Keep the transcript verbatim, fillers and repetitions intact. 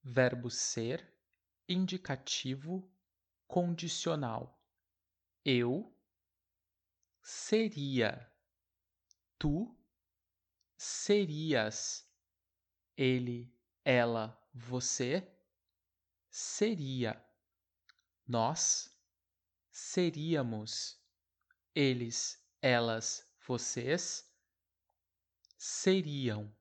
verbo ser, indicativo, condicional. Eu seria, tu serias, ele, ela, você seria, nós seríamos, eles, elas, vocês seriam.